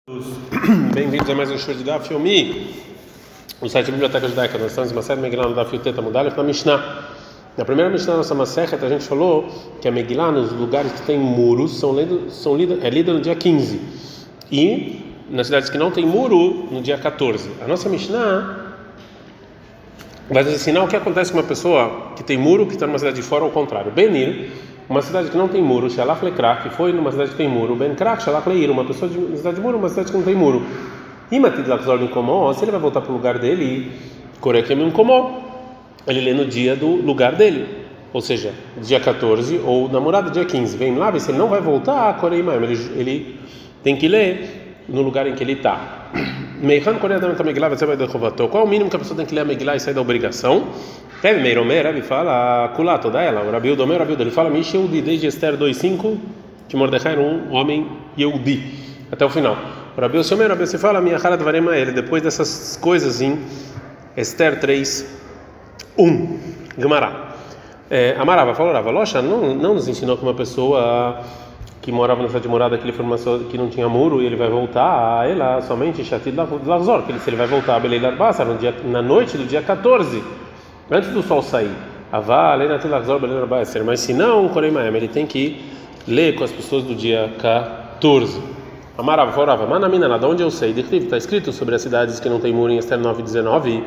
Bem-vindos a mais um show de Daf Yomi, no site da Biblioteca Judaica. Nós estamos em uma série Megillah no Daf Yuteta Mudalef na Mishnah. Na primeira Mishnah da nossa Masechet, a gente falou que a Megillah, nos lugares que tem muros, é lida no dia 15 e nas cidades que não tem muro, no dia 14. A nossa Mishnah vai nos ensinar o que acontece com uma pessoa que tem muro, que está numa cidade de fora, ou ao contrário. Benir, uma cidade que não tem muro, Shalach Lekrak, que foi numa cidade que tem muro, Ben Krak, Shalach Leir, uma pessoa de uma cidade de muro, uma cidade que não tem muro. Imatid Lachzor Minkomó, se ele vai voltar para o lugar dele, Korekem Minkomó, ele lê no dia do lugar dele, ou seja, dia 14 ou namorado dia 15. Vem lá, se ele não vai voltar, Koreimaim, ele tem que ler no lugar em que ele está. Meihan Koreadam Megillah vai ser derrovatou. Qual é o mínimo que a pessoa tem que ler a Megillah e sair da obrigação? Rabi Meiromer, Rabi fala, Kulá, toda ela. O Rabi Udomer, Rabi Udomer, ele fala, Mish Yehudi, desde Esther 2:5, que Mordecai era um homem Yehudi, até o final. O Rabi Osiomer, Rabi se fala, minha Harad Varema, ele, depois dessas coisas em Esther 3:1, Gemara. Amarava, falou, Locha, não nos ensinou que uma pessoa que morava na cidade de morada, que ele foi uma pessoa que não tinha muro e ele vai voltar a ela somente Shatid Lachzor, que se ele vai voltar a Belei Arbasa na noite do dia 14, antes do sol sair. Mas se não, ele tem que ler com as pessoas do dia 14. Amarava, falava, Manamina, lá de onde eu sei? Está escrito sobre as cidades que não tem muro em Esther 9:19.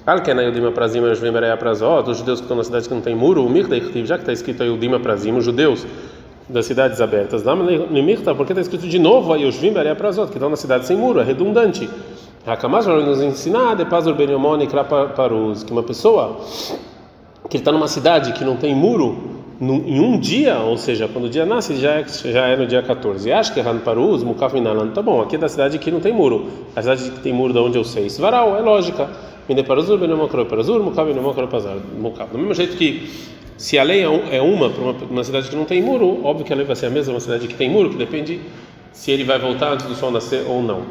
Os judeus que estão na cidade que não tem muro, já que está escrito aí o Dima Prazim, os judeus das cidades abertas. Porque está escrito de novo aí os que estão na cidade sem muro, é redundante. Hakamas vai nos ensinar que uma pessoa que está numa cidade que não tem muro em um dia, ou seja, quando o dia nasce já é no dia 14. Acho que Han Paruz, Mukaf Minalan, tá bom, aqui é da cidade que não tem muro. A cidade que tem muro, da onde eu sei, Svaral, é lógica. Do mesmo jeito que se a lei é uma para uma cidade que não tem muro, óbvio que a lei vai ser a mesma uma cidade que tem muro, que depende se ele vai voltar antes do sol nascer ou não.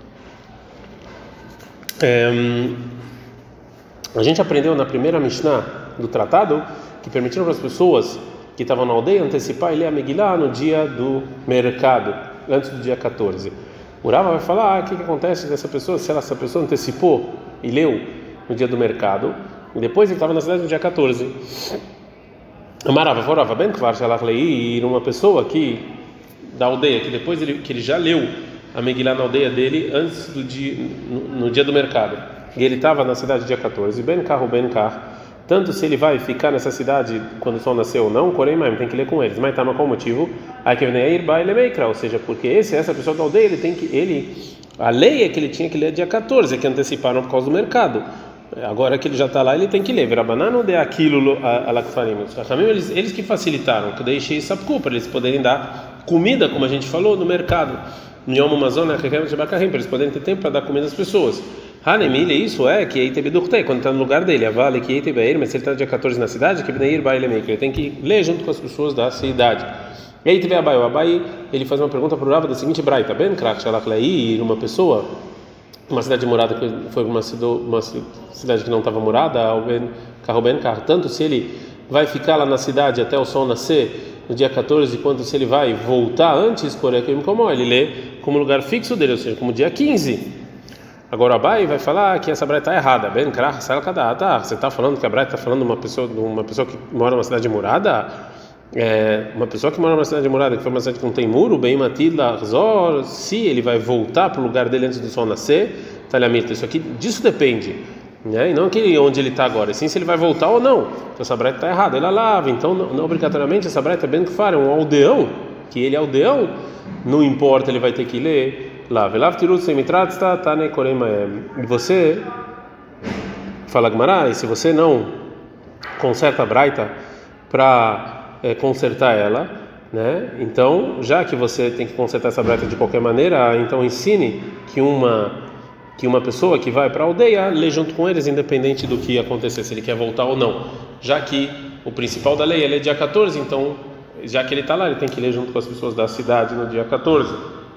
A gente aprendeu na primeira Mishnah do tratado que permitiram para as pessoas que estavam na aldeia antecipar e ler a Megillah no dia do mercado, antes do dia 14. O Rava vai falar o que acontece dessa pessoa, se essa pessoa antecipou e leu no dia do mercado, e depois ele estava na cidade no dia 14. Amarava, forava bem kvar shalach leir, uma pessoa que da aldeia, que depois que ele já leu a Megillah na aldeia dele antes do dia, no dia do mercado, e ele estava na cidade dia 14, ben carro, tanto se ele vai ficar nessa cidade quando o sol nasceu ou não, Koreimaim, tem que ler com eles. Mas tá, qual motivo? Ou seja, porque essa pessoa da aldeia, a lei é que ele tinha que ler dia 14, que anteciparam por causa do mercado. Agora que ele já está lá, ele tem que ler. Verabanano de aquilo alakfarim. Eles que facilitaram, que deixei sapku para eles poderem dar comida, como a gente falou, no mercado. Nyomo Mazona, para eles poderem ter tempo para dar comida às pessoas. Hanemile, isso é que quando está no lugar dele, vale que mas se ele está no dia 14 na cidade, que ele tem que ler junto com as pessoas da cidade. E aí teve o Abai, ele faz uma pergunta para o Rava da seguinte braita: Ben Krak Shalach Leir, uma pessoa, uma cidade de morada que foi uma cidade que não estava morada, ou Ben Kar, tanto se ele vai ficar lá na cidade até o sol nascer no dia 14, quanto se ele vai voltar antes, como ele lê como lugar fixo dele, ou seja, como dia 15. Agora o Abai vai falar que essa braita está errada. Ben Krach, você está falando que a braita está falando de uma pessoa que mora numa cidade morada? Uma pessoa que mora numa cidade morada, que foi uma cidade que não tem muro, bem matila, se ele vai voltar para o lugar dele antes do sol nascer, talhamita, isso aqui, disso depende, né? E não aquele onde ele está agora, sim se ele vai voltar ou não. Então essa braita está errada, ela lava, então não obrigatoriamente essa braita é bem que fala, é um aldeão, que ele é aldeão, não importa, ele vai ter que ler. E você fala Gemara, e se você não conserta a braita para consertar ela, né? Então, já que você tem que consertar essa braita de qualquer maneira, então ensine que uma pessoa que vai para a aldeia lê junto com eles, independente do que acontecer, se ele quer voltar ou não. Já que o principal da lei é dia 14, então, já que ele está lá, ele tem que ler junto com as pessoas da cidade no dia 14.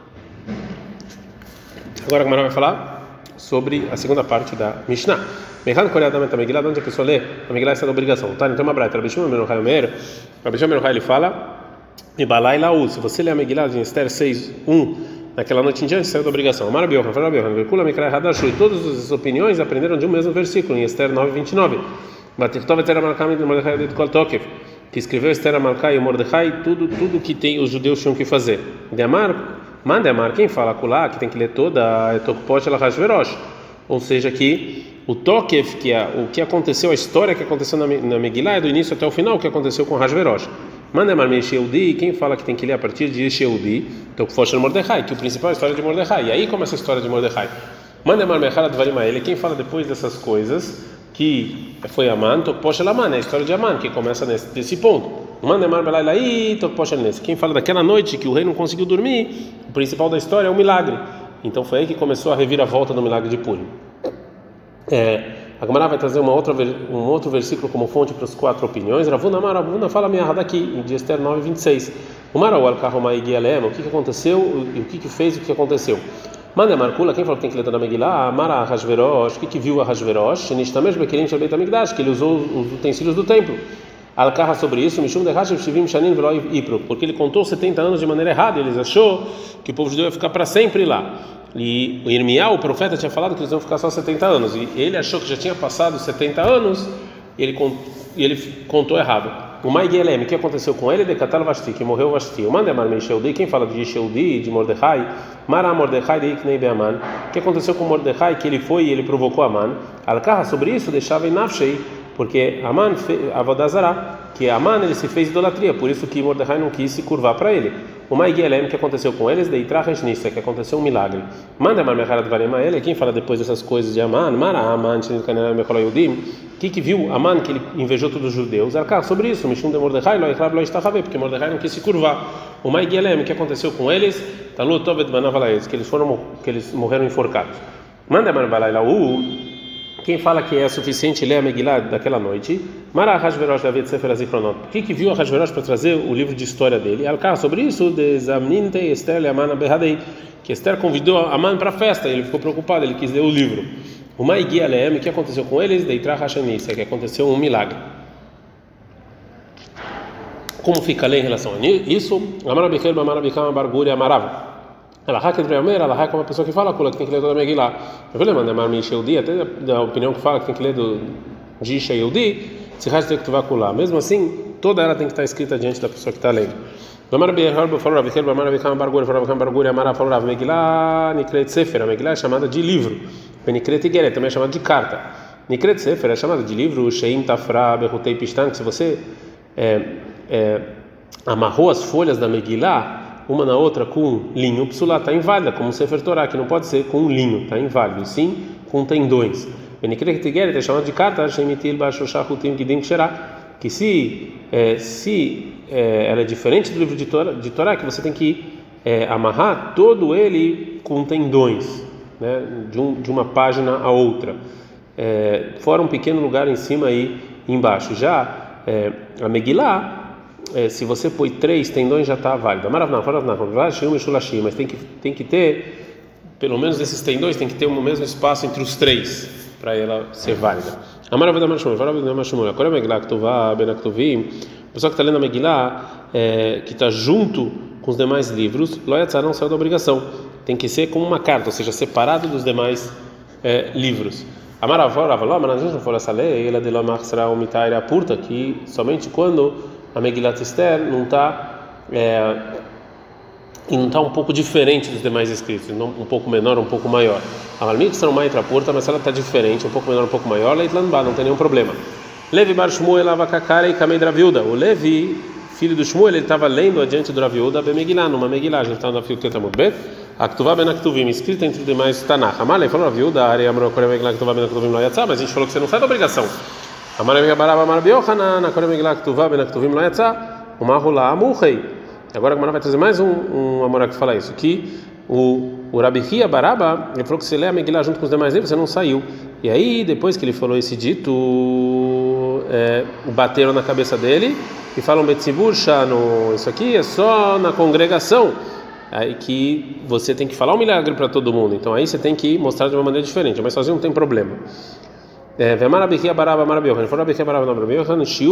Agora a Gemara vai falar sobre a segunda parte da Mishnah. Meihan Koreadam Megillah, onde a pessoa lê a Megillah está da obrigação. Tá? Então uma braita. Rabi Shimon ben Yochai ele fala: Ibalai Laú. Se você lê a Megillah em Esther 6:1, naquela noite em diante saiu da obrigação. Amar Biohan, Fala Biohan, Verkula Mikra Hadashu, e todas as opiniões aprenderam de um mesmo versículo, em Esther 9:29. Batirtov Esther Amalcam e Mordecai de Kol Tokef, que escreveu Esther Amalcam e Mordecai, tudo que tem os judeus tinham que fazer. De Amar, manda Amar, quem fala Kulá, que tem que ler toda a Tokpot ela Hashverosh, ou seja, que o Tokef, que é o que aconteceu, a história que aconteceu na Megillah, é do início até o final, o que aconteceu com Hashverosh. Manda Amar Sheudi, quem fala que tem que ler a partir de Sheudi, Tokpot Mordecai, que o principal é a história de Mordecai. E aí começa a história de Mordecai. Manda Amar Mechala Dvarim ele, quem fala depois dessas coisas, que foi Aman, Tokpot Aman, é a história de Aman, que começa nesse ponto. Manda Amar Belailai, Tokpot nesse. Quem fala daquela noite que o rei não conseguiu dormir, o principal da história é o milagre. Então foi aí que começou a reviravolta do milagre de Purim. A Gemara vai trazer um outro versículo como fonte para as 4 opiniões. Ravuna fala minha daqui em Esther 9:26. O Marau al-Kahomai Gialem, o que aconteceu e o que fez o que aconteceu. Manda Marcula, quem falou que tem que ler toda a Megillah? Mara Hashverosh, o que viu a Hashverosh? Nishtamesh Bekelim Shel Beit HaMikdash, que ele usou os utensílios do templo. Al-Kahá sobre isso, Mishum Dehashev Shivim Shanin Velo Ipro, porque ele contou 70 anos de maneira errada, e eles achou que o povo judeu ia ficar para sempre lá. E o Irmiá, o profeta, tinha falado que eles iam ficar só 70 anos, e ele achou que já tinha passado 70 anos, e ele contou errado. O Mai Gielem, o que aconteceu com ele? De Katal Vashti, que morreu Vashti. O Mandemar Sheudi, quem fala de Sheudi, de Mordecai, Mara Mordecai de Iknei Beaman, o que aconteceu com Mordecai? Que ele foi e ele provocou Aman. Al-Kahá sobre isso deixava em Nafshei, porque Aman Avodazará, que Aman ele se fez idolatria, por isso que Mordecai não quis se curvar para ele. O Mai Gielem, o que aconteceu com eles? De Itrach Nissa, que aconteceu um milagre. Mandemar Mechara de Varema ele, quem fala depois dessas coisas de Aman, Mara Aman, o que viu Aman, que ele invejou todos os judeus? Al-Kahá sobre isso, Mishum de Mordecai, porque Mordecai não quis se curvar. O Mai Gielem, o que aconteceu com eles? Talu Tovet Banavalaes, que eles morreram enforcados. Mandemar Balailau, quem fala que é suficiente ler a Megillah daquela noite? Mara Hashverosh David Sefer Azikronot. O que viu a Hashverosh para trazer o livro de história dele? Al-Kahá sobre isso, de Zamninte Esther Leaman Behadei, que Esther convidou Aman para a festa, ele ficou preocupado, ele quis ler o livro. O Mai Gielem, o que aconteceu com eles? De Itrach Hashanissa, que aconteceu um milagre. Como fica a lei em relação a isso? Amar Bechel, Amar Becham, Barguri, Amarav. Ela hack entre Almeida, ela hack uma pessoa que fala que tem que ler toda a Megillah. Eu vou lembrar da Marmin Sheudi, até da opinião que fala que tem que ler de Sheudi, se racha que tu vai colar. Mesmo assim, toda ela tem que estar escrita diante da pessoa que está lendo. Amar Bechel, falou Rav, Amar Becham, Barguri, Amarav, falou Rav, Megillah, Nikret Sefer, a Megillah é chamada de livro. Nikret Igeret também é chamada de carta. Nikret Sefer é chamada de livro, Sheim Tafra, Berutei Pistan, que se você amarrou as folhas da Megillah uma na outra com linho, psulá está inválida, como o Sefer Torá, que não pode ser com um linho, está inválido, sim com tendões. Benikret Igeret é chamada de carta, Sheim Itil Bashoshach Utim Gidim Ksherá, que se ela é diferente do livro de Torá, que você tem que amarrar todo ele com tendões, né, de uma página a outra, fora um pequeno lugar em cima e embaixo. Já a Megillah, se você põe 3 tendões já está válida. Mas tem que ter, pelo menos esses tendões, tem que ter o mesmo espaço entre os 3 para ela ser válida. A pessoa que está lendo a Megillah, que está junto com os demais livros, não saiu da obrigação. Tem que ser como uma carta, ou seja, separado dos demais livros. Mas a gente não falou essa lei, ela de Lomar será uma itaira purta, que somente quando a Megillah Esther não está um pouco diferente dos demais escritos, um pouco menor, um pouco maior. A Malmik será uma itra purta, mas ela está diferente, um pouco menor, um pouco maior, Leitlanba, não tem nenhum problema. Levi bar Shmuel avakakara e kamei Dravilda. O Levi, filho do Shmuel, ele estava lendo adiante do Dravilda a Megillah, numa Megillah, a gente está no Afil Tetamut Bet. Aktuvá ben Aktuvim, escrita entre os demais Tanakh. Amalei falou Dravilda, Arei Amro Korem Megillah Aktuvá ben Aktuvim lo yatzá, mas a gente falou que você não sai da obrigação. Amalei Barava Amar Biochanan, na Korem Megillah Aktuvá ben Aktuvim lo yatzá, uma Rula Amuchei. Agora a Gemara vai trazer mais um Amorá que fala isso, que o Rabi Hia Baraba, ele falou que se lê a Megillah junto com os demais livros, você não saiu. E aí, depois que ele falou esse dito, bateram na cabeça dele e falam Betzibur Shano, isso aqui é só na congregação, aí que você tem que falar um milagre para todo mundo, então aí você tem que mostrar de uma maneira diferente, mas sozinho não tem problema.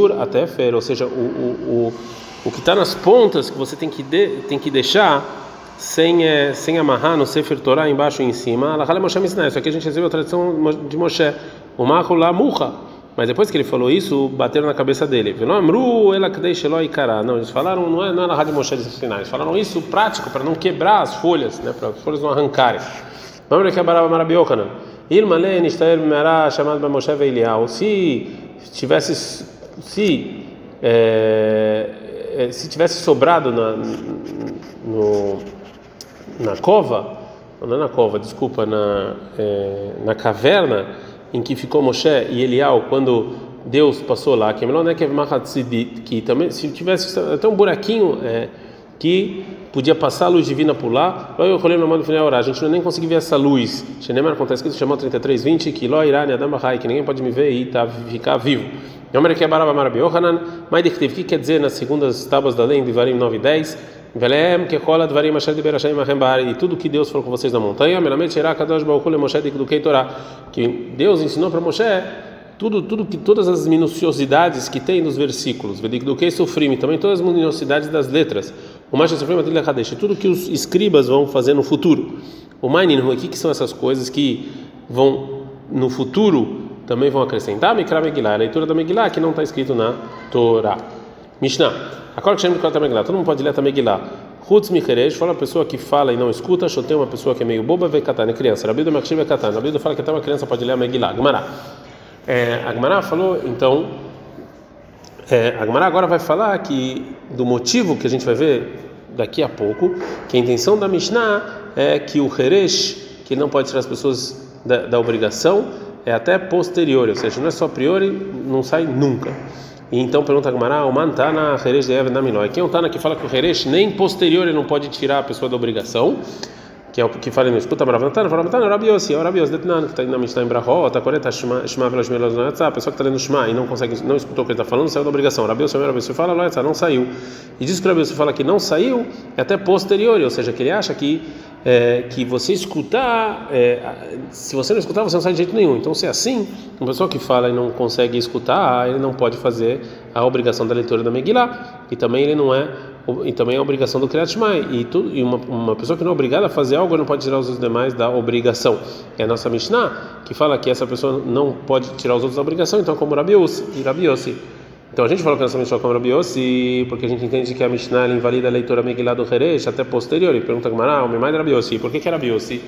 Shiur até fer, ou seja, o que está nas pontas que você tem que deixar sem amarrar no Sefer Torah embaixo e em cima. Alahá Moshe Mishnah. Isso aqui a gente recebeu a tradição de Moshe. O Marco lá murra. Mas depois que ele falou isso, bateram na cabeça dele. Não, eles falaram, não é Alahá de Moshe de Sinai. Eles falaram isso prático para não quebrar as folhas, né? Para as folhas não arrancarem. Vamos ver Barava Marabi Yochanan. Ilmale Nishtaer Merah chamado by Moshe Veilial. Se tivesse sobrado na cova, não é na cova, desculpa, na caverna em que ficou Moshe e Elial quando Deus passou lá, que também se tivesse até um buraquinho que podia passar a luz divina por lá, eu rolei no mando final orar. A gente não nem conseguia ver essa luz. Shenemar acontece que isso chamou 33:20 que lo irá adam bahai, que ninguém pode me ver e ficar vivo. O que quer dizer nas segundas tábuas da lei, em Devarim 9:10? E tudo que Deus falou com vocês na montanha, que Deus ensinou para Moshe todas as minuciosidades que tem nos versículos, também todas as minuciosidades das letras. O mais tudo que os escribas vão fazer no futuro. O o que são essas coisas que vão no futuro também vão acrescentar? Mikra Megillah, a leitura da Megillah que não está escrito na Torá. Mishnah. Agora que chama de Megillah, todo mundo pode ler a Megillah. Hutz Micherej, fala a pessoa que fala e não escuta. Shotei, uma pessoa que é meio boba, vê Katan, é criança. Rabiuda Makshir, vê Katan. Rabiuda fala que até uma criança pode ler a Megillah. Gemara. A Gemara falou, então. A Gemara agora vai falar que do motivo que a gente vai ver daqui a pouco, que a intenção da Mishnah é que o Heresh, que não pode tirar as pessoas da obrigação, é até posterior, ou seja, não é só a priori, não sai nunca. E então pergunta a Gemara, o man tana Heresh de Even Naminoi. Quem é o Tana que fala que o Heresh nem posterior ele não pode tirar a pessoa da obrigação? Que é o que fala no escuta, Maravantana, Rabi Yossi, Detnan, que está na Mishnah em Brahot, a Coreta Shema Velas Melas Natzah, a pessoa que está lendo Shema e não escutou o que ele está falando, saiu da obrigação. Rabi Yossi fala, não saiu. E diz que o Rabi Yossi fala que não saiu, é até posterior, ou seja, que ele acha que você escutar, se você não escutar, você não sai de jeito nenhum. Então, se é assim, uma pessoa que fala e não consegue escutar, ele não pode fazer a obrigação da leitura da Megillah, e também ele não é. E também é a obrigação do Kriyat Shema, e uma pessoa que não é obrigada a fazer algo não pode tirar os demais da obrigação. É a nossa Mishnah que fala que essa pessoa não pode tirar os outros da obrigação, então como Rabi Yossi. Então a gente fala que a nossa Mishnah é como Rabi Yossi porque a gente entende que a Mishnah invalida a leitura Megillah do Heresh até posterior. E pergunta que o meu mais é Rabi Yossi. Por que é Rabi Yossi?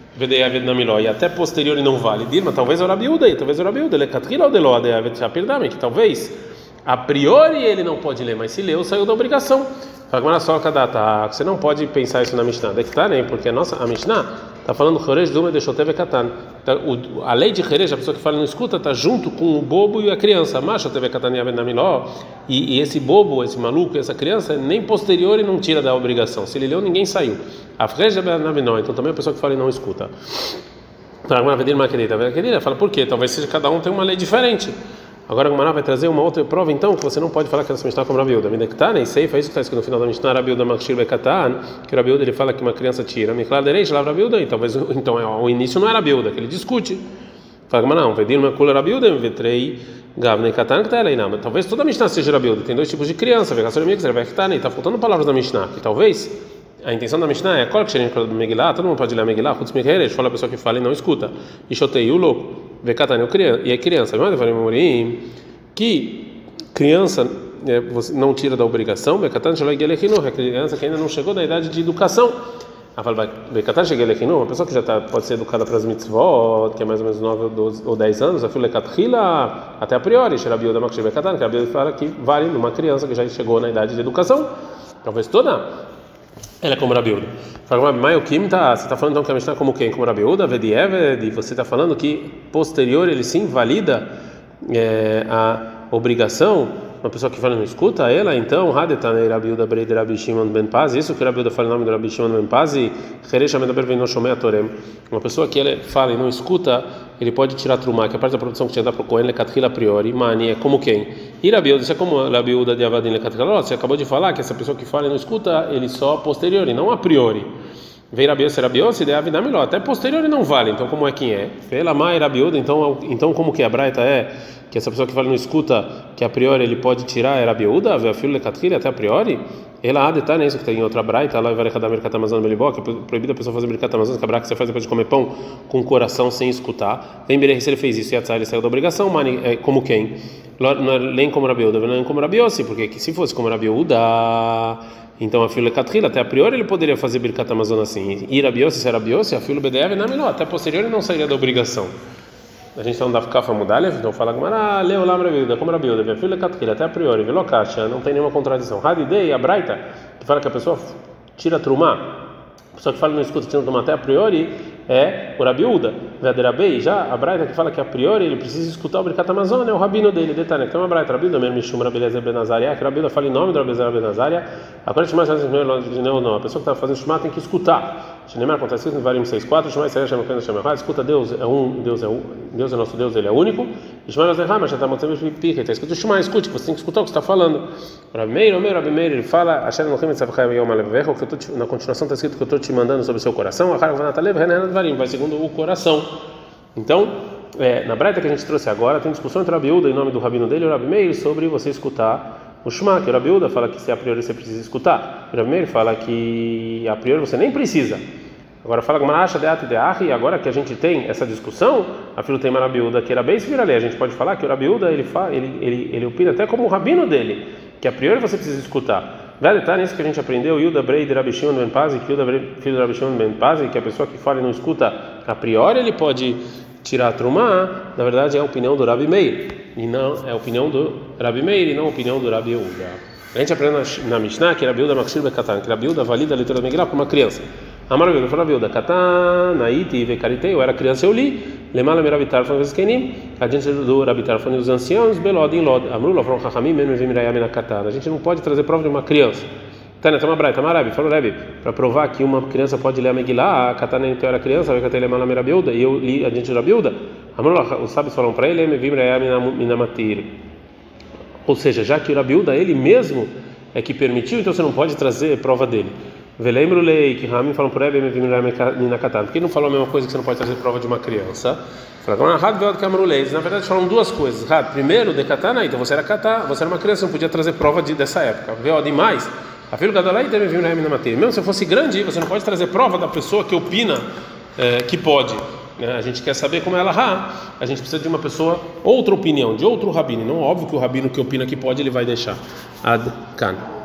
E até posterior não vale. Dilma, talvez é o Rabi Uda, ele catrila ou delode, que talvez a priori ele não pode ler, mas se leu, saiu da obrigação. Você não pode pensar isso na Mishnah, porque a Mishnah está falando Choresh Duma de Shotev Katan. A lei de Choresh, a pessoa que fala e não escuta, está junto com o bobo e a criança. Mas Shotev Katan e esse bobo, esse maluco, essa criança, nem posterior e não tira da obrigação. Se ele leu, ninguém saiu. Então também a pessoa que fala e não escuta. Fala por quê? Talvez seja cada um tem uma lei diferente. Agora a Gemara vai trazer uma outra prova, então, que você não pode falar que essa Mishnah é como Rabi Uda. Midektan, e Seifa, isso que está escrito no final da Mishnah, Rabi Uda Makshir Bekatan, que o Rabi Uda ele fala que uma criança tira. Miklar Dereish, lá Rabi Uda, então o início não é Rabi Uda, que ele discute. Fala, mas não, Vedir Makula Rabi Uda, Vetrei Gavnei Katan, que está aí, não. Mas talvez toda a Mishnah seja Rabi Uda. Tem dois tipos de criança, Vegassor e Mixer, Vektan, e está faltando palavras da Mishnah, que talvez a intenção da Mishnah é qual que seria o Megillah, todo mundo pode ler a Megillah, Chutz Micheresh, fala a pessoa que fala e não escuta. E Shotei o louco, Vekatan e é criança. Mas eu falei, que criança você não tira da obrigação, a criança que ainda não chegou na idade de educação. Uma pessoa que já pode ser educada para as mitzvot, que é mais ou menos 9 ou 10 anos, até a priori, que a fala que vale numa criança que já chegou na idade de educação, talvez toda ela é como Rabi Uda. Você está falando então que a Mishnah é como quem? Como Rabi Uda, e você está falando que posterior ele sim valida a obrigação, uma pessoa que fala e não escuta ela, então, Hadetanei Rabi Uda Brei de Rabi Shimon Ben Pazi, isso que Rabi Uda fala em nome do Rabi Shimon Ben Pazi, Cheresh Amedaber Veino Shomei Atorem, uma pessoa que ele fala e não escuta, ele pode tirar trumá, que é a parte da produção que tinha dado para o Kohen, Lekatrila a priori, Mani, é como quem? E Rabi Uda, isso é como Rabi Uda de Avadim Lekatrila, você acabou de falar que essa pessoa que fala e não escuta, ele só a posteriori, não a priori. Vem Rabiose, Rabiose, daí a vida melhor. Até posterior ele não vale. Então como é quem é? Fela mai Rabiuda. Então como que a braita é que essa pessoa que fala não escuta que a priori ele pode tirar é Rabiuda, a filha lecatrilha até a priori. Ela há detalhe isso que tem em outra braita, lá vai cada mercata amazônia belibó, que é proibido a pessoa fazer mercata amazônia, que a braita que você faz depois de comer pão com o coração sem escutar. Vem Berê, se ele fez isso e ele saiu da obrigação, mani é como quem? Não é nem como Rabiuda, não é como Rabiose, porque se fosse como Rabiuda, então a filha Catrila, até a priori ele poderia fazer Birkat Amazon assim. E Rabiose, se era Rabiose, a filha BDF não é melhor, até a posterior ele não sairia da obrigação. A gente não dá ficar mudalha, então fala Gmará, leu lá Rabiuda, como Rabiuda, a filha Catrila, até a priori, Velocacha, não tem nenhuma contradição. Hadidei, a Braita, que fala que a pessoa tira trumá, a pessoa que fala não escuta tirando trumá até a priori, é o Rabiuda. Verderabei, já a Braita que fala que a priori ele precisa escutar o Birkat Amazon, é o rabino dele, detalhe. Então a Braita, Rabiuda, mesmo Mishum Rabelezer Benazaria, que Rabiuda fala em nome do Rabelezer Benazaria, agora Shema não, a pessoa que está fazendo Shema tem que escutar. Shneimar acontece isso no Varim 6.4, Shema Israel chama quando chama escuta Deus é um, Deus é nosso Deus, ele é único. E Shema Nazerhama já está mostrando pica, está escutando Shema, escute, você tem que escutar o que você está falando. Rabi Meir, ele fala, Asher Elohim Tzavchai Yom Alevecha, que na continuação está escrito que eu estou te mandando sobre o seu coração, vai segundo o coração. Então, na Braita que a gente trouxe agora, tem discussão entre o Rabiuda, em nome do rabino dele, e o Rabi Meir, sobre você escutar o Shema, que o Rabiuda fala que se a priori você precisa escutar. O Rabi Meir fala que a priori você nem precisa. Agora fala que Maracha Deat Deachi, agora que a gente tem essa discussão, a filho tem Rabiuda que era bem se vira ali. A gente pode falar que o Rabiuda ele opina até como o rabino dele, que a priori você precisa escutar. Vai detalhe nisso que a gente aprendeu, Yuda Brei de Rabi Shimon Ben Pazi, que Yuda Brei, filho de Rabi Shimon Ben Pazi, que a pessoa que fala e não escuta a priori ele pode tirar a trumá, na verdade é a opinião do Rabi Meir, e não é a opinião do Rabi Meir e não a opinião do Rabi Yehuda. A gente aprende na Mishnah que Rabi Yehuda Makshir Bekatan, que Rabi Yehuda valida a leitura da Megillah para uma criança. Amar Rabi Yehuda, fala Rabi Yehuda, Katan, Naiti, Vekaritei, eu era criança, eu li, Lemala Merabitar, foi Veskenim, a gente do Rabitar foi os anciãos, Belod em Lod, Amrula, From Chachamim, Menu Vimirayam na Katan. A gente não pode trazer prova de uma criança. Tânia, toma Braita, Marabi, falou Rabi, para provar que uma criança pode ler a Megillah, a Katana então era criança, vai Katana Lemala Merabiuda, e eu li a gente do Rabiuda. Amrula, os sábios falam para ele, Vimirayam Minamatir. Ou seja, já que o Rabiuda ele mesmo é que permitiu, então você não pode trazer prova dele. Velembro lei que Ramin falam por ele, porque não falou a mesma coisa que você não pode trazer prova de uma criança. Na verdade falam duas coisas. Primeiro, de katana, então você era katá, você era uma criança, não podia trazer prova dessa época. Demais. A filha gadolai teve na matéria. Mesmo se fosse grande, você não pode trazer prova da pessoa que opina que pode. A gente quer saber como ela a gente precisa de uma pessoa, outra opinião, de outro rabino. Não óbvio que o rabino que opina que pode ele vai deixar. Ad kan.